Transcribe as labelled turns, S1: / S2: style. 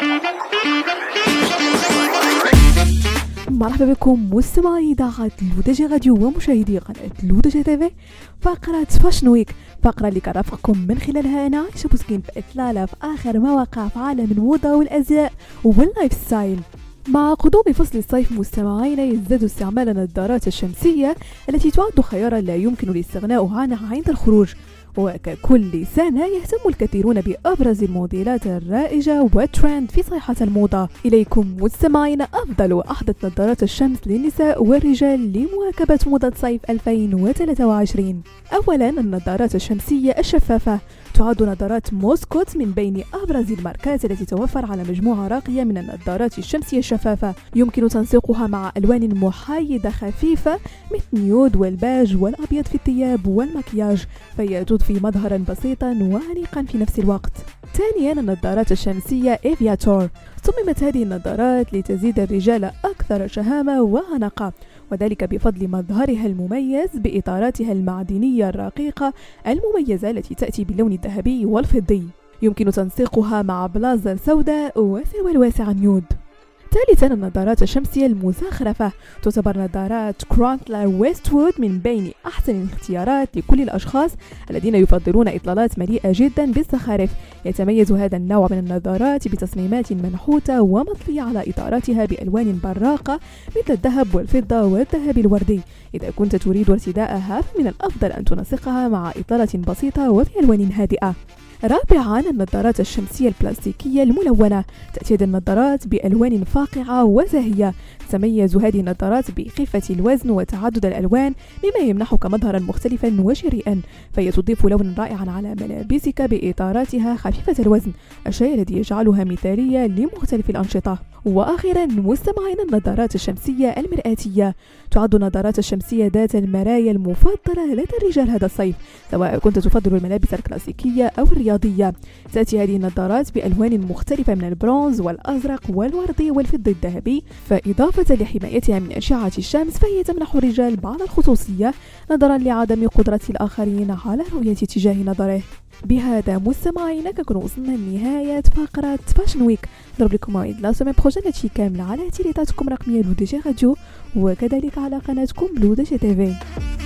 S1: مرحبا بكم مستمعي اذاعه لودجي راديو ومشاهدي قناه لودجي تيفي. فقره فاشن ويك، فقره اللي كرافقكم من خلالها انا عايشه بوسكين في اطلاله في اخر مواقع في عالم الموضه والازياء واللايف ستايل. مع قدوم فصل الصيف مستمعينا يزداد استعمال النظارات الشمسيه التي تعد خيارا لا يمكن الاستغناء عنها عند الخروج، وككل سنة يهتم الكثيرون بأبرز الموديلات الرائجة والترند في صيحة الموضة. إليكم مستمعين أفضل وأحدث نظارات الشمس للنساء والرجال لمواكبة موضة صيف 2023. أولا النظارات الشمسية الشفافة، تعد نظارات موسكوت من بين أبرز الماركات التي توفر على مجموعة راقية من النظارات الشمسية الشفافة، يمكن تنسيقها مع ألوان محايدة خفيفة مثل نيود والباج والأبيض في الثياب والمكياج، فهي تضفي مظهرا بسيطا وأنيقا في نفس الوقت. ثانيا النظارات الشمسية إيفياتور، صممت هذه النظارات لتزيد الرجال أكثر شهامة وأناقة، وذلك بفضل مظهرها المميز بإطاراتها المعدنية الرقيقة المميزة التي تأتي باللون الذهبي والفضي، يمكن تنسيقها مع بلازر سوداء وسروال واسع نيود. ثالثا النظارات الشمسية المزخرفة، تعتبر نظارات كرونكلر ويستوود من بين أحسن الاختيارات لكل الأشخاص الذين يفضلون إطلالات مليئة جدا بالزخارف. يتميز هذا النوع من النظارات بتصميمات منحوتة ومطلية على إطاراتها بألوان براقة مثل الذهب والفضة والذهب الوردي. إذا كنت تريد ارتداءها فمن الأفضل أن تنسقها مع إطالة بسيطة وبألوان هادئة. رابعا النظارات الشمسية البلاستيكية الملونة، تأتي هذه النظارات بألوان فاقعة وزاهية. تتميز هذه النظارات بخفة الوزن وتعدد الألوان مما يمنحك مظهرا مختلفا وشريئا، فهي تضيف لونا رائعا على ملابسك بإطاراتها خفيفة الوزن، الشيء الذي يجعلها مثالية لمختلف الأنشطة. وأخيرا مستمعين النظارات الشمسية المرآتية، تعد النظارات الشمسية ذات المرايا المفضلة لدى الرجال هذا الصيف، سواء كنت تفضل الملابس الكلاسيكية أو الرياضية. تأتي هذه النظارات بألوان مختلفة من البرونز والأزرق والوردي والفضي الذهبي، فإضافة لحمايتها من أشعة الشمس فهي تمنح الرجال بعض الخصوصية نظرا لعدم قدرة الآخرين على رؤية اتجاه نظره. بهذا مستمعينا كنكون وصلنا لنهاية فقرة فاشن ويك. نضرب لكم موعد لا سومين بروجين هادشي كامل على تيليتاتكم الرقمية لودجي راديو وكذلك على قناتكم لودجي تيفي.